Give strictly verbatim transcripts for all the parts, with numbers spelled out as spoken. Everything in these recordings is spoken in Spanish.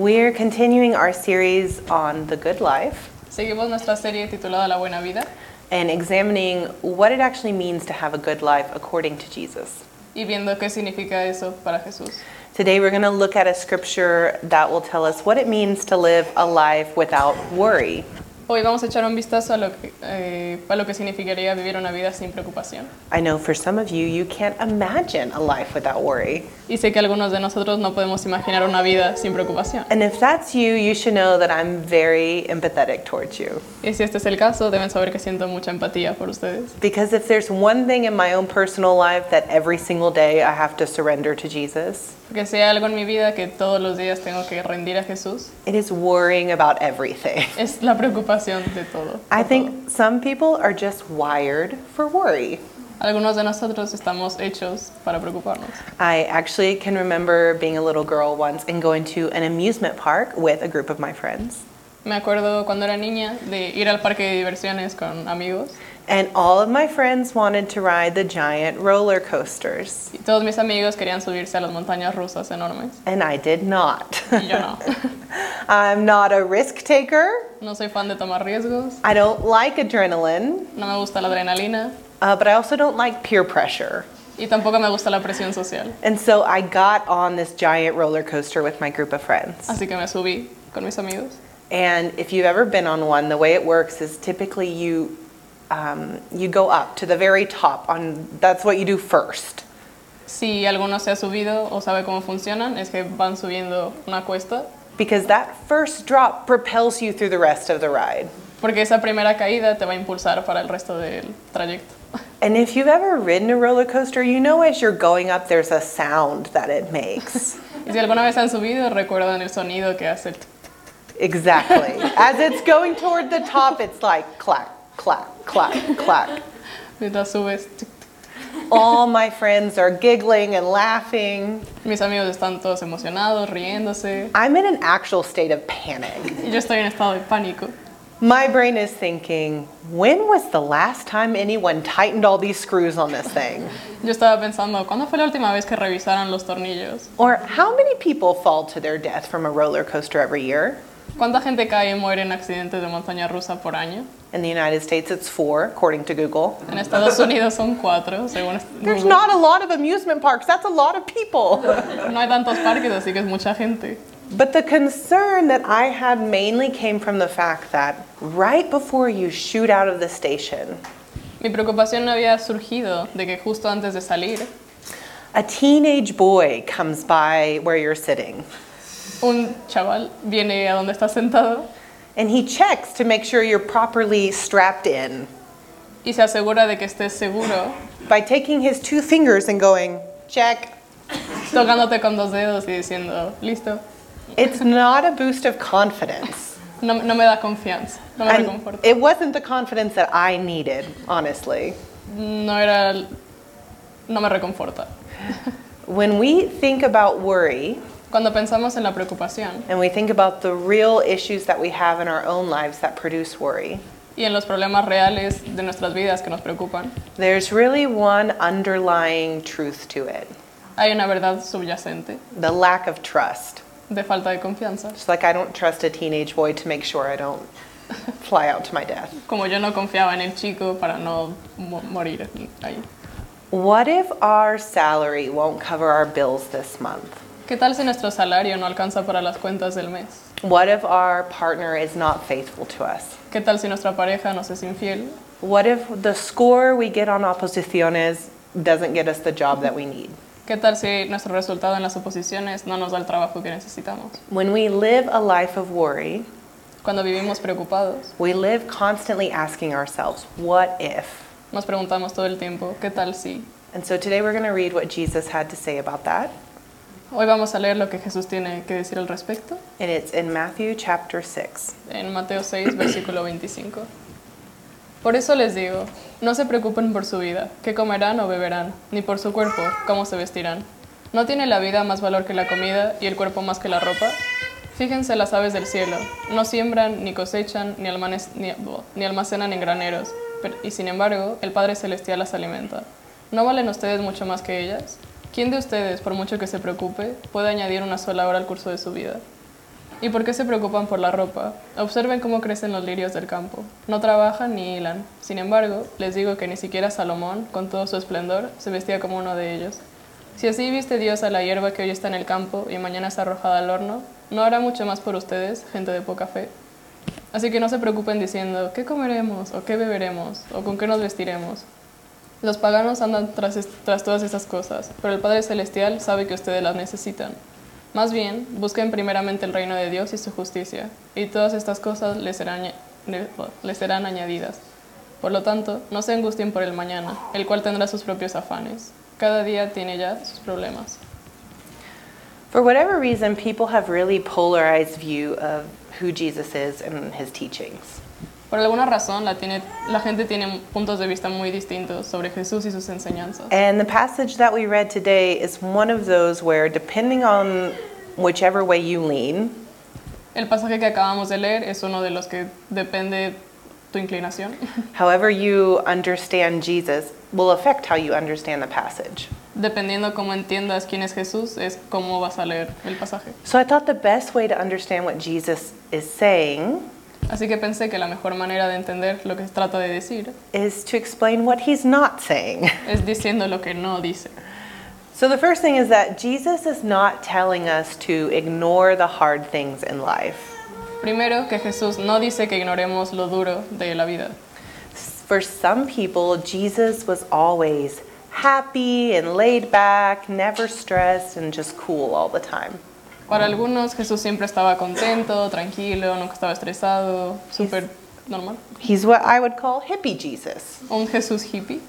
We're continuing our series on the good life Seguimos nuestra serie titulada La Buena Vida and examining what it actually means to have a good life according to Jesus. y viendo qué significa eso para Jesús. Today we're going to look at a scripture that will tell us what it means to live a life without worry. Hoy vamos a echar un vistazo a lo que, eh, a lo que significaría vivir una vida sin preocupación. I know for some of you, you can't imagine a life without worry. Y sé que algunos de nosotros no podemos imaginar una vida sin preocupación. And if that's you, you should know that I'm very empathetic towards you. Y si este es el caso, deben saber que siento mucha empatía por ustedes. Because if there's one thing in my own personal life that every single day I have to surrender to Jesus, Porque si hay algo en mi vida que todos los días tengo que rendir a Jesús, it is worrying about everything. es la preocupación de todo. I por think some people are just wired for worry. todo. Algunos de nosotros estamos hechos para preocuparnos. I actually can remember being a little girl once and going to an amusement park with a group of my friends. Me acuerdo cuando era niña de ir al parque de diversiones con amigos And all of my friends wanted to ride the giant roller coasters. y todos mis amigos querían subirse a las montañas rusas enormes And I did not. y yo no. I'm not a risk taker. No soy fan de tomar riesgos, I don't like adrenaline, no me gusta la adrenalina uh, but I also don't like peer pressure. y tampoco me gusta la presión social. And so I got on this giant roller coaster with my group of friends. Así que me subí con mis amigos. And if you've ever been on one, the way it works is typically you um, you go up to the very top. On that's what you do first. Si alguno se ha subido o sabe cómo funcionan, es que van subiendo una cuesta, Because that first drop propels you through the rest of the ride. porque esa primera caída te va a impulsar para el resto del trayecto. And if you've ever ridden a roller coaster, you know as you're going up, there's a sound that it makes. Y si alguna vez han subido, recuerdan el sonido que hace el tic. Exactly. As it's going toward the top, it's like clack, clack, clack, clack. Mientras subes, tic, tic. All my friends are giggling and laughing. Mis amigos están todos emocionados, riéndose, I'm in an actual state of panic. y yo estoy en estado de pánico. My brain is thinking, when was the last time anyone tightened all these screws on this thing? Yo estaba pensando, ¿cuándo fue la última vez que revisaron los tornillos? Or how many people fall to their death from a roller coaster every year? ¿Cuánta gente cae y muere en accidentes de montaña rusa por año? In the United States, it's four, according to Google. En Estados Unidos son cuatro, según There's Google. not a lot of amusement parks. That's a lot of people. No hay tantos parques, así que es mucha gente. But the concern that I had mainly came from the fact that right before you shoot out of the station, Mi preocupación había surgido de que justo antes de salir, a teenage boy comes by where you're sitting. un chaval viene a donde está sentado And he checks to make sure you're properly strapped in y se asegura de que estés seguro, by taking his two fingers and going, check. tocándote con dos dedos y diciendo, listo. It's not a boost of confidence. No, no me da confianza, no me And reconforta. it wasn't the confidence that I needed, honestly. No era, no me reconforta. When we think about worry, Cuando pensamos en la preocupación and we think about the real issues that we have in our own lives that produce worry, y en los problemas reales de nuestras vidas que nos preocupan, there's really one underlying truth to it: hay una verdad subyacente the lack of trust. de falta de confianza. Just like I don't trust a teenage boy to make sure I don't fly out to my death. Como yo no confiaba en el chico para no mo- morir ahí. What if our salary won't cover our bills this month? ¿Qué tal si nuestro salario no alcanza para las cuentas del mes? What if our partner is not faithful to us? ¿Qué tal si nuestra pareja nos es infiel? What if the score we get on oposiciones doesn't get us the job that we need? ¿Qué tal si nuestro resultado en las oposiciones no nos da el trabajo que necesitamos? When we live a life of worry, Cuando vivimos preocupados, we live constantly asking ourselves, what if? nos preguntamos todo el tiempo, ¿qué tal si? And so today we're going to read what Jesus had to say about that. Hoy vamos a leer lo que Jesús tiene que decir al respecto And it's in Matthew chapter six. en Mateo seis, versículo veinticinco. Por eso les digo, no se preocupen por su vida, qué comerán o beberán, ni por su cuerpo, cómo se vestirán. ¿No tiene la vida más valor que la comida y el cuerpo más que la ropa? Fíjense las aves del cielo, no siembran, ni cosechan, ni, almanes- ni, ni almacenan en graneros, pero- y sin embargo, el Padre Celestial las alimenta. ¿No valen ustedes mucho más que ellas? ¿Quién de ustedes, por mucho que se preocupe, puede añadir una sola hora al curso de su vida? ¿Y por qué se preocupan por la ropa? Observen cómo crecen los lirios del campo. No trabajan ni hilan. Sin embargo, les digo que ni siquiera Salomón, con todo su esplendor, se vestía como uno de ellos. Si así viste Dios a la hierba que hoy está en el campo y mañana es arrojada al horno, ¿no hará mucho más por ustedes, gente de poca fe? Así que no se preocupen diciendo, ¿qué comeremos? ¿O qué beberemos? ¿O con qué nos vestiremos? Los paganos andan tras, est- tras todas estas cosas, pero el Padre Celestial sabe que ustedes las necesitan. Más bien, busquen primeramente el reino de Dios y su justicia, y todas estas cosas les serán, aña- le- les serán añadidas. Por lo tanto, no se angustien por el mañana, el cual tendrá sus propios afanes. Cada día tiene ya sus problemas. For whatever reason, people have really polarized view of who Jesus is and his teachings. Por alguna razón, la, tiene, la gente tiene puntos de vista muy distintos sobre Jesús y sus enseñanzas. And the passage that we read today is one of those where, depending on whichever way you lean, El pasaje que acabamos de leer es uno de los que depende tu inclinación. however you understand Jesus will affect how you understand the passage. Dependiendo cómo entiendas quién es Jesús, es cómo vas a leer el pasaje. So I thought the best way to understand what Jesus is saying Así que pensé que la mejor manera de entender lo que trata de decir is to explain what he's not saying. es diciendo lo que no dice. So the first thing is that Jesus is not telling us to ignore the hard things in life. Primero, que Jesús no dice que ignoremos lo duro de la vida. For some people, Jesus was always happy and laid back, never stressed, and just cool all the time. Para algunos, Jesús siempre estaba contento, tranquilo, nunca estaba estresado, súper normal. He's what I would call hippie Jesus. Un Jesús hippie.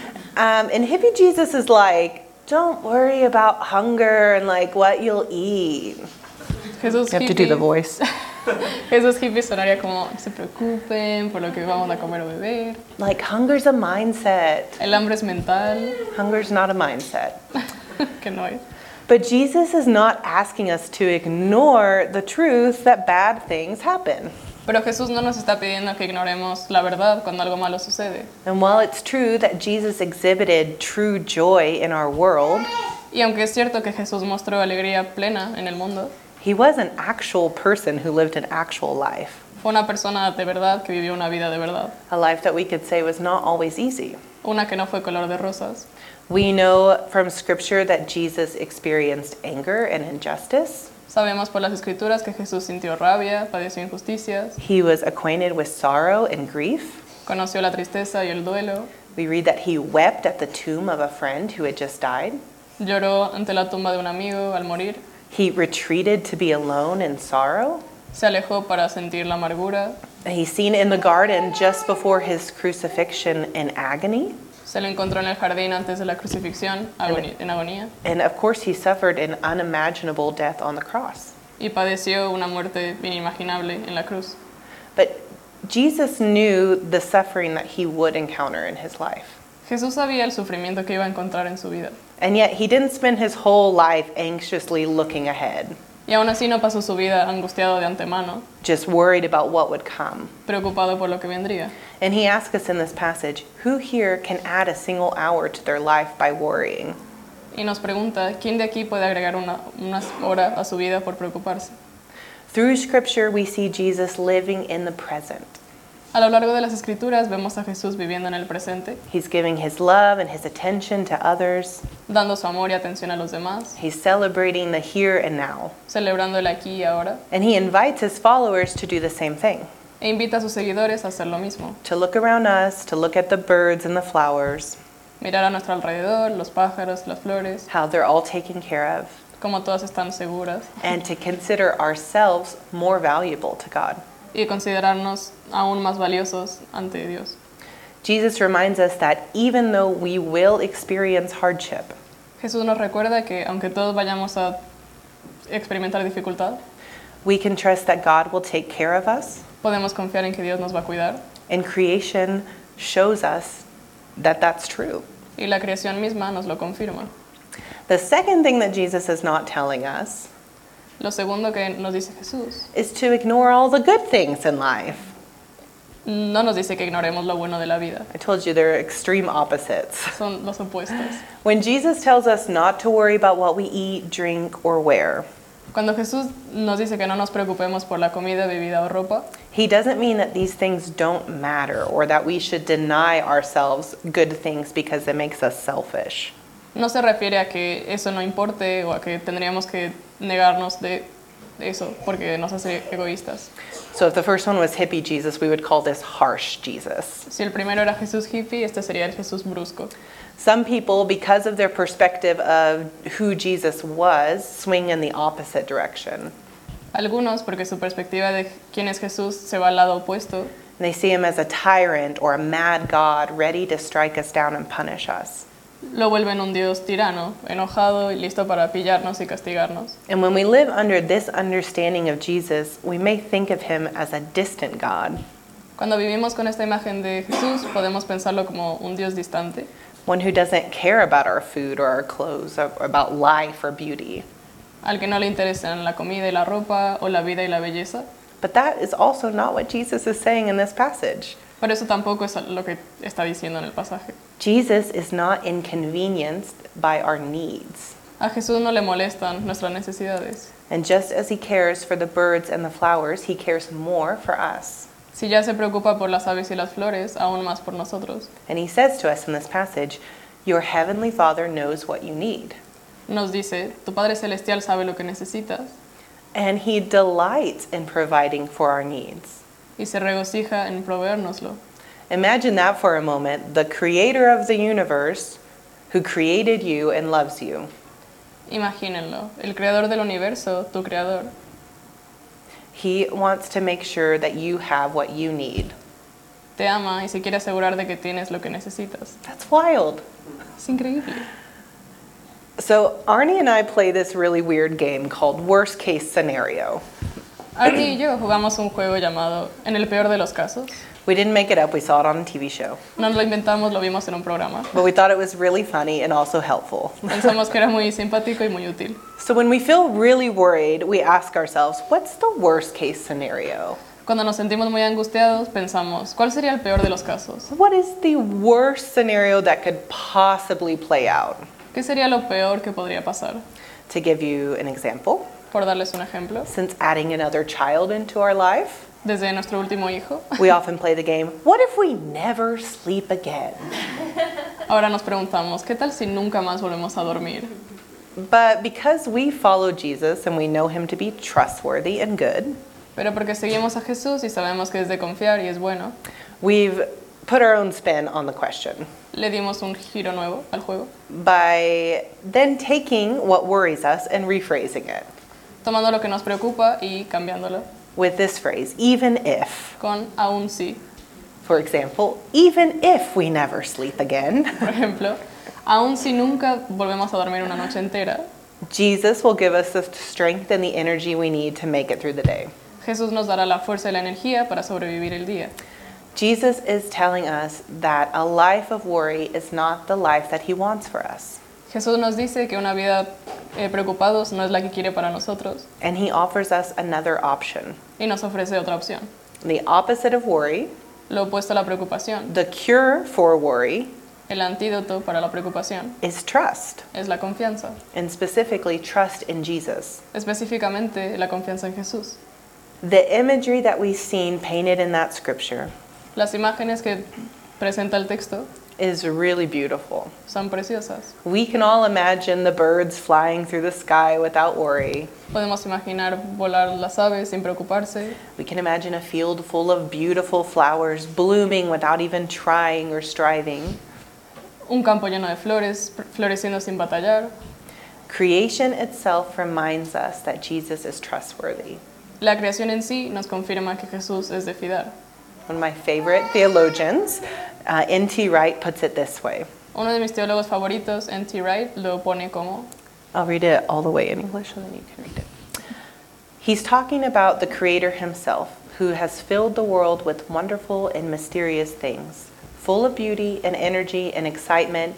Um, and hippie Jesus is like, don't worry about hunger and like what you'll eat. Jesús You have to do the hippie, voice. Jesús hippie sonaría como, no se preocupen por lo que vamos a comer o beber. Like hunger's a mindset. El hambre es mental, Hunger's not a mindset. que no es. But Jesus is not asking us to ignore the truth that bad things happen. Pero Jesús no nos está pidiendo que ignoremos la verdad cuando algo malo sucede. And while it's true that Jesus exhibited true joy in our world, Y aunque es cierto que Jesús mostró alegría plena en el mundo, he was an actual person who lived an actual life. fue una persona de verdad que vivió una vida de verdad. A life that we could say was not always easy. Una que no fue color de rosas. We know from Scripture that Jesus experienced anger and injustice. Sabemos por las escrituras que Jesús sintió rabia, padeció injusticias, He was acquainted with sorrow and grief. conoció la tristeza y el duelo, We read that he wept at the tomb of a friend who had just died. lloró ante la tumba de un amigo al morir, He retreated to be alone in sorrow. se alejó para sentir la amargura, He's seen in the garden just before his crucifixion in agony. se lo encontró en el jardín antes de la crucifixión, agoni- en agonía, And of course, he suffered an unimaginable death on the cross. y padeció una muerte inimaginable en la cruz. But Jesus knew the suffering that he would encounter in his life. Jesús sabía el sufrimiento que iba a encontrar en su vida, And yet, he didn't spend his whole life anxiously looking ahead, y aún así no pasó su vida angustiado de antemano, just worried about what would come. preocupado por lo que vendría. And he asks us in this passage, who here can add a single hour to their life by worrying? Y nos pregunta, ¿quién de aquí puede agregar una, unas horas a su vida por preocuparse? Through Scripture, we see Jesus living in the present. A lo largo de las escrituras vemos a Jesús viviendo en el presente, He's giving his love and his attention to others. dando su amor y atención a los demás, He's celebrating the here and now. celebrando el aquí y ahora, And he invites his followers to do the same thing, e invita a sus seguidores a hacer lo mismo, to look around us, to look at the birds and the flowers, mirar a nuestro alrededor, los pájaros, las flores, how they're all taken care of, cómo todas están seguras, and to consider ourselves more valuable to God. y considerarnos aún más valiosos ante Dios. Jesus reminds us that even though we will experience hardship, Jesús nos recuerda que aunque todos vayamos a experimentar dificultad, we can trust that God will take care of us, podemos confiar en que Dios nos va a cuidar, and creation shows us that that's true. y la creación misma nos lo confirma. The second thing that Jesus is not telling us Lo segundo que nos dice Jesús, is to ignore all the good things in life. no nos dice que ignoremos lo bueno de la vida, I told you they're extreme opposites. son los opuestos. When Jesus tells us not to worry about what we eat, drink, or wear, Cuando Jesús nos dice que no nos preocupemos por la comida, bebida o ropa, He doesn't mean that these things don't matter or that we should deny ourselves good things because it makes us selfish. no se refiere a que eso no importe o a que tendríamos que negarnos de eso porque nos hace egoístas. So if the first one was hippie Jesus, we would call this harsh Jesus. Si el primero era Jesús hippie, este sería el Jesús brusco. Some people, because of their perspective of who Jesus was, swing in the opposite direction. Algunos, porque su perspectiva de quién es Jesús se va al lado opuesto, And they see him as a tyrant or a mad God ready to strike us down and punish us. lo vuelven un Dios tirano, enojado y listo para pillarnos y castigarnos. And when we live under this understanding of Jesus, we may think of him as a distant God, Cuando vivimos con esta imagen de Jesús, podemos pensarlo como un Dios distante, one who doesn't care about our food or our clothes, or about life or beauty. al que no le interesan la comida y la ropa o la vida y la belleza. But that is also not what Jesus is saying in this passage. Pero eso tampoco es lo que está diciendo en el pasaje. Jesus is not inconvenienced by our needs. A Jesús no le molestan nuestras necesidades. And just as he cares for the birds and the flowers, he cares more for us. Si ya se preocupa por las aves y las flores, aún más por nosotros. And he says to us in this passage, your heavenly Father knows what you need. Nos dice, tu Padre Celestial sabe lo que necesitas And he delights in providing for our needs. y se regocija en proveérnoslo. Imagine that for a moment, the creator of the universe who created you and loves you. Imagínenlo, el creador del universo, tu creador, He wants to make sure that you have what you need. te ama y se quiere asegurar de que tienes lo que necesitas. That's wild. Es increíble. So Arnie and I play this really weird game called Worst Case Scenario. Arnie y yo jugamos un juego llamado En el peor de los casos. We didn't make it up, we saw it on a T V show. No lo inventamos, lo vimos en un programa. But we thought it was really funny and also helpful. Pensamos que era muy simpático y muy útil. So when we feel really worried, we ask ourselves, what's the worst case scenario? Cuando nos sentimos muy angustiados, pensamos, ¿cuál sería el peor de los casos? What is the worst scenario that could possibly play out? ¿Qué sería lo peor que podría pasar? To give you an example, Por darles un ejemplo, since adding another child into our life, desde nuestro último hijo, we often play the game, what if we never sleep again? ahora nos preguntamos, ¿qué tal si nunca más volvemos a dormir? But because we follow Jesus and we know him to be trustworthy and good, Pero porque seguimos a Jesús y sabemos que es de confiar y es bueno, we've put our own spin on the question le dimos un giro nuevo al juego, by then taking what worries us and rephrasing it tomando lo que nos preocupa y cambiándolo with this phrase, even if. con aún sí. For example, even if we never sleep again, Por ejemplo, aún si nunca volvemos a dormir una noche entera, Jesus will give us the strength and the energy we need to make it through the day. Jesús nos dará la fuerza y la energía para sobrevivir el día. Jesus is telling us that a life of worry is not the life that he wants for us. Jesús nos dice que una vida eh, preocupados no es la que quiere para nosotros And he offers us another option. y nos ofrece otra opción. The opposite of worry, Lo opuesto a la preocupación, the cure for worry, el antídoto para la preocupación, is trust, es la confianza, and specifically trust in Jesus. específicamente la confianza en Jesús. The imagery that we've seen painted in that scripture Las imágenes que presenta el texto is really beautiful. son preciosas. We can all imagine the birds flying through the sky without worry. Podemos imaginar volar las aves sin preocuparse. We can imagine a field full of beautiful flowers blooming without even trying or striving. Un campo lleno de flores, floreciendo sin batallar. Creation itself reminds us that Jesus is trustworthy. La creación en sí nos confirma que Jesús es de fiar. One of my favorite theologians, uh, N T Wright, puts it this way. Uno de mis teólogos favoritos, N T Wright, lo pone como, I'll read it all the way in English so then you can read it. He's talking about the Creator himself, who has filled the world with wonderful and mysterious things, full of beauty and energy and excitement,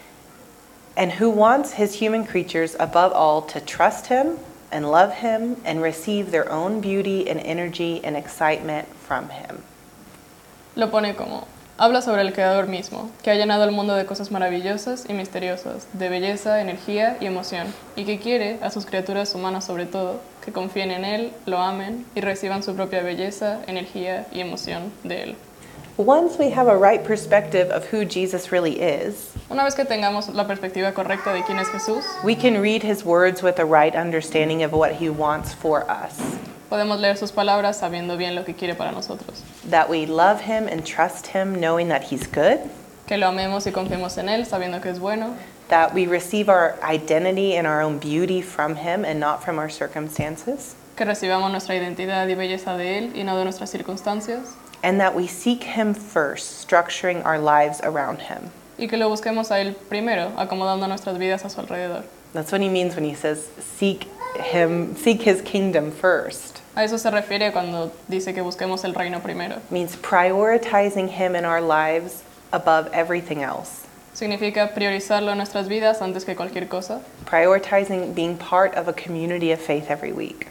and who wants his human creatures above all to trust him and love him and receive their own beauty and energy and excitement from him. lo pone como, Habla sobre el Creador mismo, que ha llenado el mundo de cosas maravillosas y misteriosas, de belleza, energía y emoción, y que quiere, a sus criaturas humanas sobre todo, que confíen en Él, lo amen y reciban su propia belleza, energía y emoción de Él. Once we have a right perspective of who Jesus really is, Una vez que tengamos la perspectiva correcta de quién es Jesús, we can read his words with a right understanding of what he wants for us. podemos leer sus palabras sabiendo bien lo que quiere para nosotros. That we love him and trust him, knowing that he's good. Que lo amemos y confiemos en Él sabiendo que es bueno. That we receive our identity and our own beauty from him and not from our circumstances. Que recibamos nuestra identidad y belleza de Él y no de nuestras circunstancias. And that we seek him first, structuring our lives around him. Y que lo busquemos a Él primero, acomodando nuestras vidas a su alrededor. That's what he means when he says, seek him, seek his kingdom first. A eso se refiere cuando dice que busquemos el reino primero. It means prioritizing him in our lives above everything else. Significa priorizarlo en nuestras vidas antes que cualquier cosa. Prioritizing being part of a community of faith every week.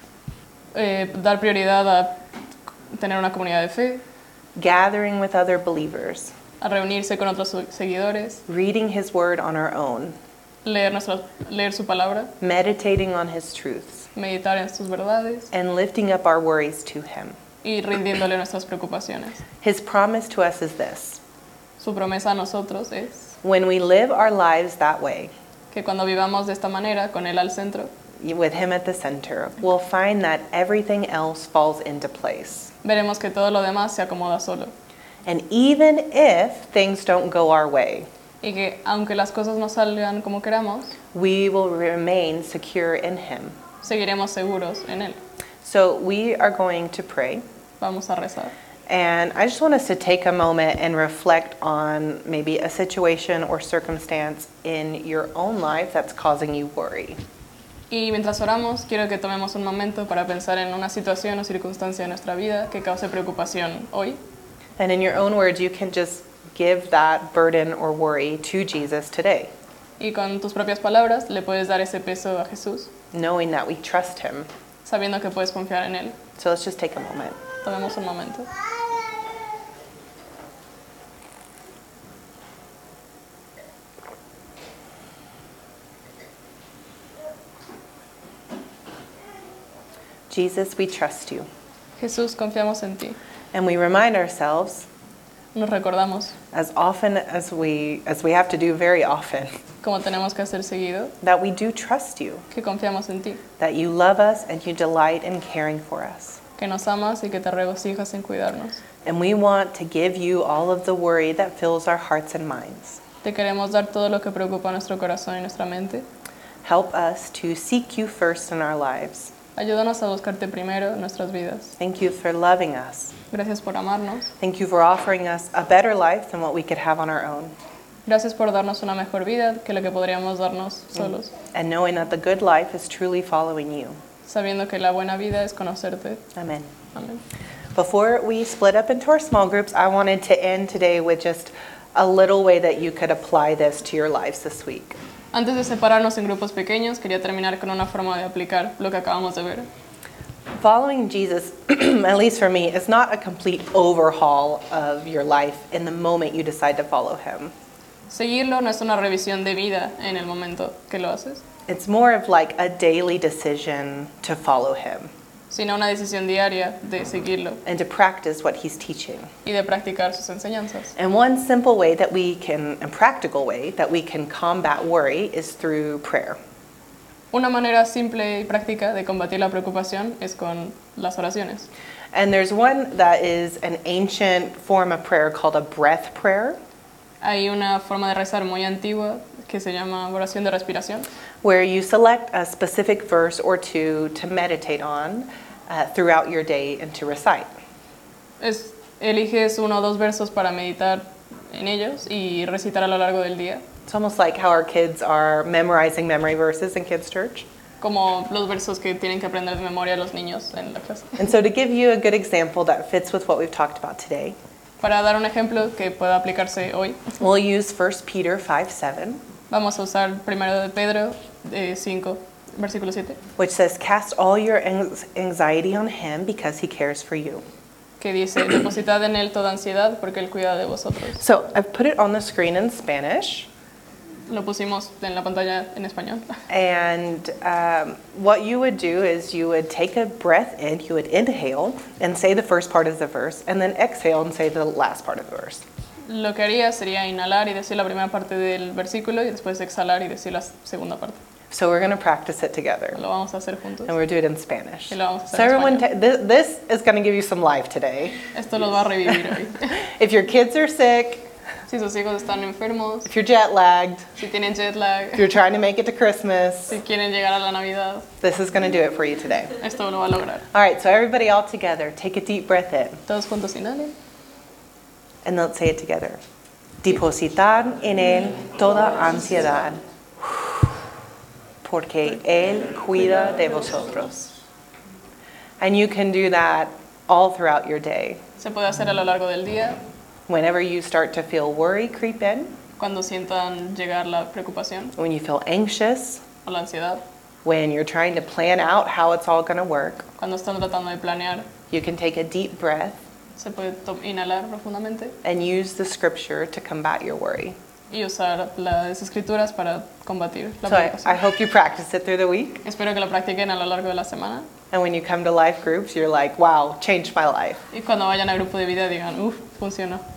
Eh, dar prioridad a tener una comunidad de fe, Gathering with other believers. a reunirse con otros seguidores, Reading his word on our own. leer, nuestra, leer su palabra, Meditating on his truths. meditar en sus verdades And lifting up our worries to him. y rindiéndole nuestras preocupaciones. His promise to us is this. Su promesa a nosotros es When we live our lives that way, que cuando vivamos de esta manera, con Él al centro, with him at the center, we'll find that everything else falls into place. veremos que todo lo demás se acomoda solo. And even if things don't go our way, Y que aunque las cosas no salgan como queramos, we will remain secure in him. seguiremos seguros en Él. So we are going to pray. Vamos a rezar. And I just want us to take a moment and reflect on maybe a situation or circumstance in your own life that's causing you worry. Y mientras oramos, quiero que tomemos un momento para pensar en una situación o circunstancia de nuestra vida que cause preocupación hoy. And in your own words, you can just give that burden or worry to Jesus today, Y con tus propias palabras le puedes dar ese peso a Jesús, knowing that we trust him. sabiendo que puedes confiar en Él. So let's just take a moment. Tomemos un momento. Jesus, we trust you. Jesús, confiamos en ti. And we remind ourselves, Nos recordamos, as often as we as we have to do very often, como tenemos que hacer seguido, that we do trust you, que confiamos en ti, that you love us and you delight in caring for us. que nos amas y que te regocijas en cuidarnos. And we want to give you all of the worry that fills our hearts and minds. Te queremos dar todo lo que preocupa nuestro corazón y nuestra mente. Help us to seek you first in our lives. Ayúdanos a buscarte primero en nuestras vidas. Thank you for loving us. Gracias por amarnos. Thank you for offering us a better life than what we could have on our own. Gracias por darnos una mejor vida que la que podríamos darnos solos, And knowing that the good life is truly following you. sabiendo que la buena vida es conocerte. Amen. Amén. Before we split up into our small groups, I wanted to end today with just a little way that you could apply this to your lives this week. Antes de separarnos en grupos pequeños, quería terminar con una forma de aplicar lo que acabamos de ver. Following Jesus, at least for me, is not a complete overhaul of your life in the moment you decide to follow him. Seguirlo no es una revisión de vida en el momento que lo haces, It's more of like a daily decision to follow him sino una decisión diaria de seguirlo and to practice what he's teaching. y de practicar sus enseñanzas. And one simple way that we can, a practical way that we can combat worry is through prayer. Una manera simple y práctica de combatir la preocupación es con las oraciones. And there's one that is an ancient form of prayer called a breath prayer, Hay una forma de rezar muy antigua que se llama oración de respiración, where you select a specific verse or two to meditate on uh, throughout your day and to recite. es, eliges uno o dos versos para meditar en ellos y recitar a lo largo del día, It's almost like how our kids are memorizing memory verses in kids' church. como los versos que tienen que aprender de memoria los niños en la clase. And so to give you a good example that fits with what we've talked about today, Para dar un ejemplo que pueda aplicarse hoy, we'll use First Peter five seven, vamos a usar primero de Pedro eh, cinco, versículo siete, which says, "Cast all your anx- anxiety on him because he cares for you." que dice, depositad en Él toda ansiedad porque Él cuida de vosotros. So I've put it on the screen in Spanish. Lo pusimos en la pantalla en español. And um, what you would do is you would take a breath in, you would inhale and say the first part of the verse, and then exhale and say the last part of the verse. Lo que haría sería inhalar y decir la primera parte del versículo y después exhalar y decir la segunda parte. So we're going to practice it together. Lo vamos a hacer juntos. And we'll do it in Spanish. Y lo vamos a hacer So en everyone, español. ta- this, this is going to give you some life today. Esto los va a revivir hoy. If your kids are sick, Si sus hijos están enfermos, if you're jet lagged, si tienen jet lag, if you're trying to make it to Christmas, si quieren llegar a la Navidad, this is going to do it for you today. esto lo va a lograr. All right, so everybody all together, take a deep breath in. Todos juntos inhalen. And let's say it together. Depositar en Él toda ansiedad, porque Él cuida de vosotros. And you can do that all throughout your day. Se puede hacer a lo largo del día, Whenever you start to feel worry creep in, cuando sientan llegar la preocupación when you feel anxious, o la ansiedad, when you're trying to plan out how it's all going to work, cuando están tratando de planear, you can take a deep breath se puede to- inhalar profundamente and use the scripture to combat your worry. y usar las escrituras para combatir la So I, I preocupación. hope you practice it through the week. Espero que lo practiquen a lo largo de la semana And when you come to life groups, you're like, wow, changed my life. y cuando vayan a grupo de vida digan, uff, funcionó.